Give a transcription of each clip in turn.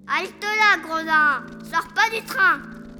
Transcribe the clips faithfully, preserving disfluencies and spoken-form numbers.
Halte là, gredin! Sors pas du train!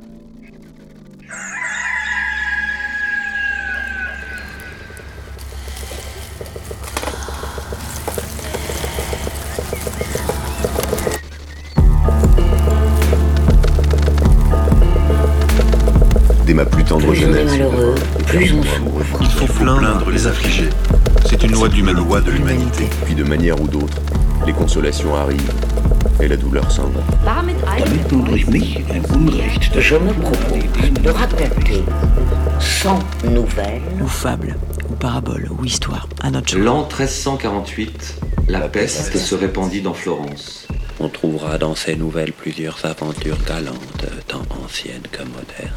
Dès ma plus tendre Plus jeunesse, on est malheureux, plus on souffre. Il faut plaindre les affligés. C'est une loi de loi de l'humanité. puis de manière ou d'autre, les consolations arrivent et la douleur s'en va. Damit nun durch mich ein Unrecht. Je me propose de raconter cent nouvelles ou fables, ou paraboles, ou histoires, à notre genre. L'an treize cent quarante-huit, la peste se répandit dans Florence. On trouvera dans ces nouvelles plusieurs aventures galantes, tant anciennes que modernes.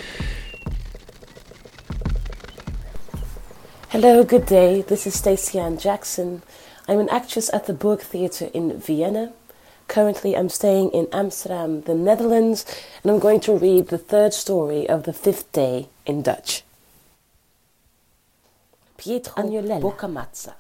Hello, good day. This is Stacey Ann Jackson. I'm an actress at the Burg Theatre in Vienna. Currently, I'm staying in Amsterdam, the Netherlands, and I'm going to read the third story of the fifth day in Dutch. Pietro Agnolella Boccamazza.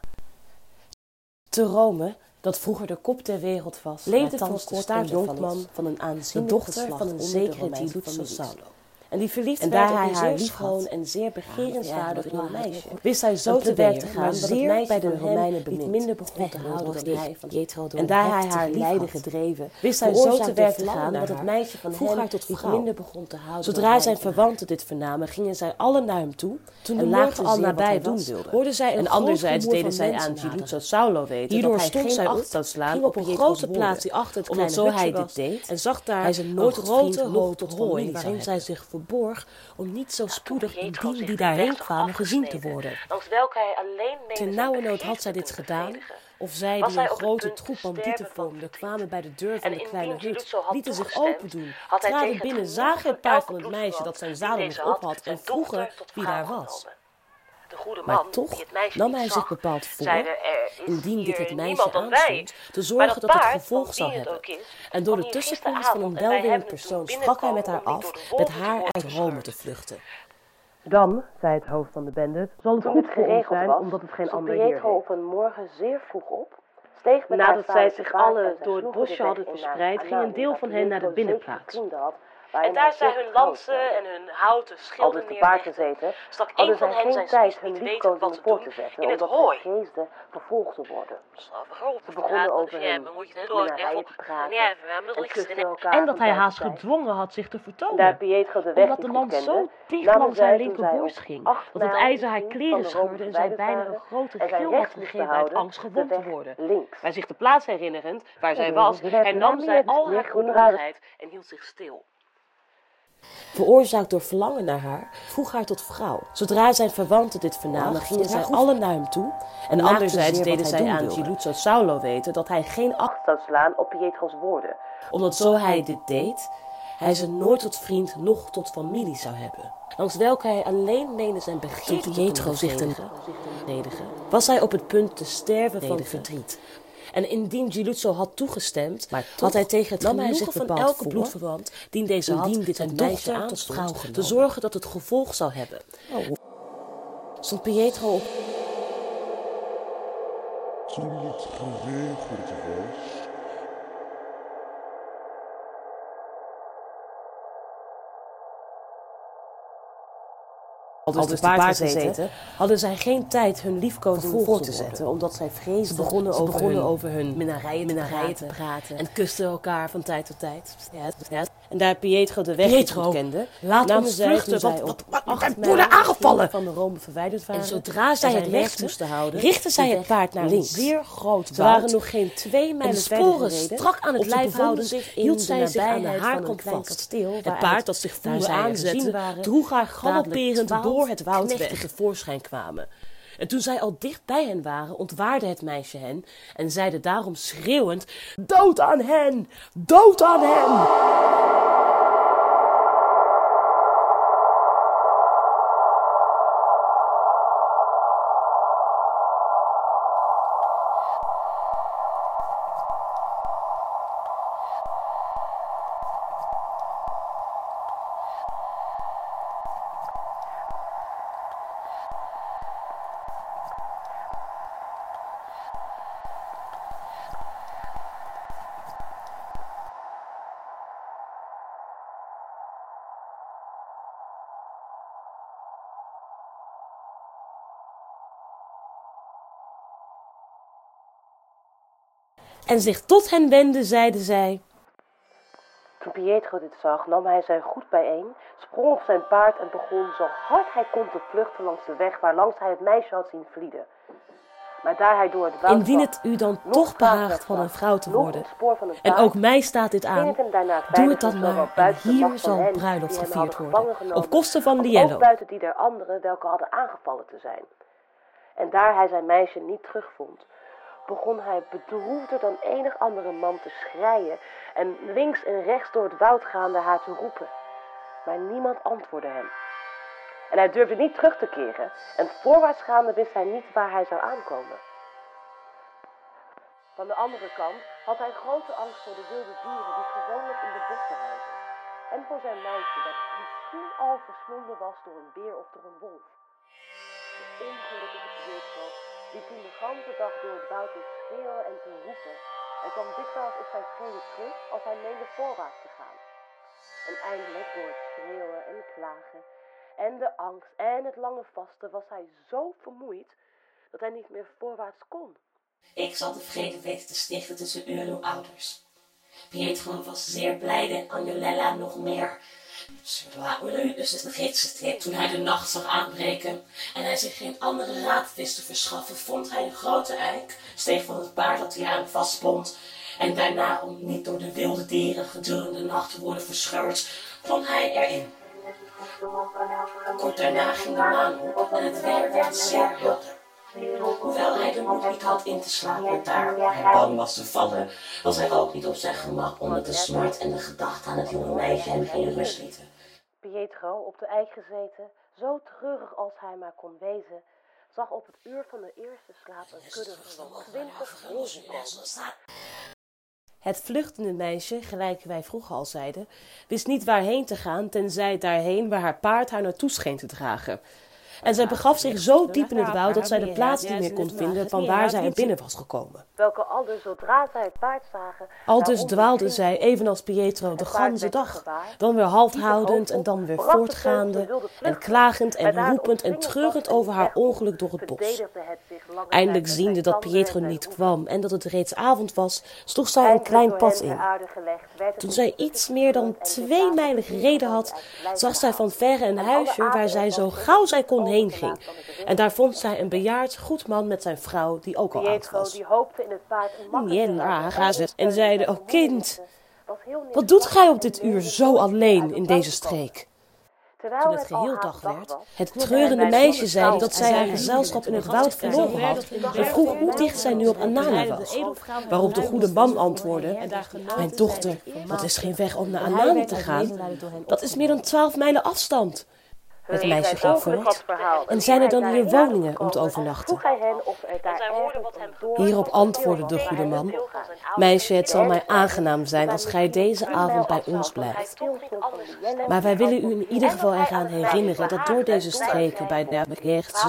Te Rome, dat vroeger de kop ter wereld was, leefde voor kort een jonkman van een aanzienlijke dochter van een zekere Diluzzo Saulo. En die verliefd en daar hij haar liefschoon en zeer begerenswaardig jong meisje, wist hij zo te werk te gaan dat het meisje bij de Romeinen niet minder begon te houden dan hij van Pietro. En daar hij haar lijden gedreven, wist hij zo te werk te gaan dat het meisje van hem haar tot niet minder begon te houden. Zodra zijn verwanten dit vernamen, gingen zij allen naar hem toe. Toen de morgen al nabij doen wilde, hoorden zij en anderzijds deden zij aan Diluzzo Saulo weten. Hierdoor stond zij acht zou slaan op een grote plaats die achter het kleine hutje was deed en zag daar hij zijn nooit grote hoofd tot hooi waarin zij zich borg om niet zo spoedig indien die daarheen kwamen gezien te worden. Langs welke hij alleen ten nauwe nood had zij dit gedaan, of zij die een grote troep bandieten vormden, kwamen bij de deur van de kleine hut, lieten zich open doen, traden binnen, zagen het paard van het meisje dat zijn zadel nog op had en vroegen wie daar was. Maar toch nam hij zich bepaald voor, indien dit het meisje aanstond, te zorgen dat het gevolg zou hebben. En door de tussenkomst van een welwillend persoon sprak hij met haar af met haar uit Rome te vluchten. Dan, zei het hoofd van de bende, zal het goed geregeld zijn, omdat het geen ander hier heeft. Pietro op een morgen zeer vroeg op. Nadat zij zich alle door het bosje hadden verspreid, ging een deel van hen naar de binnenplaats. En daar zij hun lansen en hun houten schilden neerlegden, stak een van hen zijn spies niet weten wat te doen in het hooi. vervolgd te worden. Ze begonnen over hun minnarijen te praten en kusten elkaar. En dat hij haast gedwongen had zich te vertonen, omdat de lans zo dicht langs haar linkerborst ging, dat het ijzer haar kleren scheurde en zij bijna een grote gil had gegeven uit angst gewond te worden. Bij zich de plaats herinnerend waar zij was, hernam zij al haar goedmoedigheid en hield zich stil. Veroorzaakt door verlangen naar haar, vroeg haar tot vrouw. Zodra zijn verwanten dit vernamen, gingen zij allen naar hem toe. En anderzijds deden zij aan Diluzzo Saulo weten dat hij geen acht zou slaan op Pietro's woorden. Omdat zo hij dit deed, hij ze nooit tot vriend, noch tot familie zou hebben. Langs welke hij alleen meende zijn begeerte Pietro zich te verdedigen, was hij op het punt te sterven van verdriet. En indien Diluzzo had toegestemd, maar toch, had hij tegen het genoegen van elke bloedverwant, die deze had, dit zijn meisje aanstond, te zorgen dat het gevolg zou hebben. Oh. Stond Pietro op. Toen het geregeld was, Al dus, dus te paard gezeten, hadden zij geen tijd hun liefkozing voor te zetten, omdat zij vreesden. Ze begonnen, Ze over, begonnen hun over hun minnarijen te, praten, te praten en kusten elkaar van tijd tot tijd. Ja, ja. En daar Pietro de weg Pietro, niet kende, laat ons vluchten, want wat, wat, wat, wat worden aangevallen van de Rome verwijderd waren. En zodra zij het recht moesten houden, richtten zij het paard naar links. Zeer groot woud. Ze waren nog geen twee mijlen verder gereden. Strak aan het lijf houden zich hield zij zich aan de haarkant van het kasteel. Het paard dat zich voelde aanzetten, droeg haar galopperend door het woud weg tevoorschijn kwamen. En toen zij al dicht bij hen waren, ontwaarde het meisje hen en zeide daarom schreeuwend: dood aan hen! Dood aan hen! en zich tot hen wendde, zeide zij: Toen Pietro dit zag, nam hij zijn goed bijeen, sprong op zijn paard en begon zo hard hij kon te vluchten langs de weg waarlangs hij het meisje had zien vlieden. Maar daar hij door het woud Indien het u dan toch behaagt van een vrouw te worden, en ook mij staat dit aan, doe het dan maar, en hier zal bruiloft gevierd worden, op kosten van Liello. Ook buiten die der anderen welke hadden aangevallen te zijn. En daar hij zijn meisje niet terugvond, begon hij bedroefder dan enig andere man te schreien en links en rechts door het woud gaande haar te roepen. Maar niemand antwoordde hem. En hij durfde niet terug te keren en voorwaarts gaande wist hij niet waar hij zou aankomen. Van de andere kant had hij grote angst voor de wilde dieren die gewoonlijk in de bossen huizen. En voor zijn meisje dat misschien al verslonden was door een beer of door een wolf. De ongelukkige Pietro liep toen de ganse dag door het woud te schreeuwen en te roepen en kwam dikwijls op zijn treden terug als hij meende voorwaarts te gaan. En eindelijk door het schreeuwen en klagen en de angst en het lange vasten was hij zo vermoeid dat hij niet meer voorwaarts kon. Ik zal de vrede weten te stichten tussen u en uw ouders. Pietro was zeer blijde en Agnolella nog meer. Dus het gidste toen hij de nacht zag aanbreken en hij zich geen andere raad wist te verschaffen, vond hij een grote eik, steeg van het paard dat hij aan vastbond en daarna, om niet door de wilde dieren gedurende de nacht te worden verscheurd, klom hij erin. Kort daarna ging de maan op en het weer werd zeer helder. Hoewel hij de moed niet had in te slapen, daar hij bang was te vallen, was hij ook niet op zijn gemak omdat de smart en de gedachte aan het jonge meisje hem geen rust lieten. Pietro, op de eik gezeten, zo treurig als hij maar kon wezen, zag op het uur van de eerste slaap een kudde van twintig rozen komen. Het vluchtende meisje, gelijk wij vroeger al zeiden, wist niet waarheen te gaan, tenzij daarheen waar haar paard haar naartoe scheen te dragen. En zij begaf zich zo diep in het woud dat zij de plaats niet meer kon vinden van waar zij er binnen was gekomen. Welke aldus, zodra zij het paard zagen, aldus dwaalde zij, evenals Pietro, de ganse dag. Dan weer halt houdend en dan weer voortgaande en klagend en roepend en treurend over haar ongeluk door het bos. Eindelijk ziende dat Pietro niet kwam en dat het reeds avond was, sloeg zij een klein pad in. Toen zij iets meer dan twee mijlen gereden had, zag zij van verre een huisje waar zij zo gauw zij kon heen ging. En daar vond zij een bejaard goed man met zijn vrouw die ook al oud was. En zeide: O kind, wat doet gij op dit uur zo alleen in deze streek? Toen het geheel dag werd, het treurende meisje zeide dat zij haar gezelschap in het woud verloren had en vroeg hoe dicht zij nu op Anana was. Waarop de goede man antwoordde: Mijn dochter, dat is geen weg om naar Anana te gaan. Dat is meer dan twaalf mijlen afstand. Het meisje ging voort. En zijn er dan hier woningen om te overnachten? Hierop antwoordde de goede man: Meisje, het zal mij aangenaam zijn als gij deze avond bij ons blijft. Maar wij willen u in ieder geval eraan herinneren dat door deze streken bij de rechtse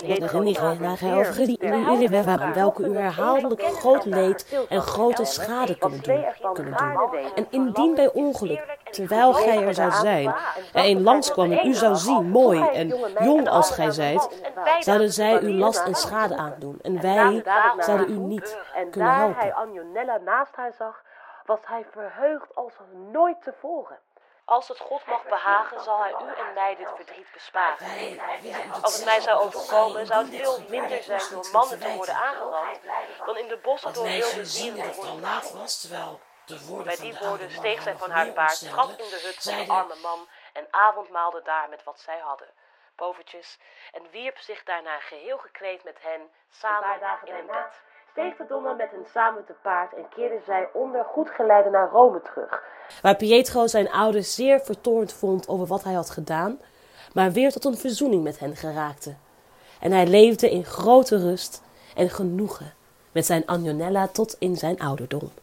zin welke u herhaaldelijk groot leed en grote schade kunnen doen, kunnen doen. En indien bij ongeluk, terwijl gij er zou zijn, er een langskwam en u zou zien, mooi en jong als gij zijt, zouden zij u last en schade aandoen. En wij zouden u niet kunnen helpen. Daar hij Agnolella naast haar zag, was hij verheugd als nooit tevoren. Als het God mag behagen, zal hij u en mij dit verdriet besparen. Als het mij zou overkomen, zou het veel minder zijn door mannen te worden aangerand, dan in de bossen door wilde dieren te worden aangerand. Bij die woorden steeg zij van haar paard, trad in de hut van de arme man en avondmaalde daar met wat zij hadden, povertjes, en wierp zich daarna geheel gekleed met hen samen in een bed. Steeg de donna met hen samen te paard en keerde zij onder goed geleide naar Rome terug, waar Pietro zijn ouders zeer vertoornd vond over wat hij had gedaan, maar weer tot een verzoening met hen geraakte. En hij leefde in grote rust en genoegen met zijn Agnolella tot in zijn ouderdom.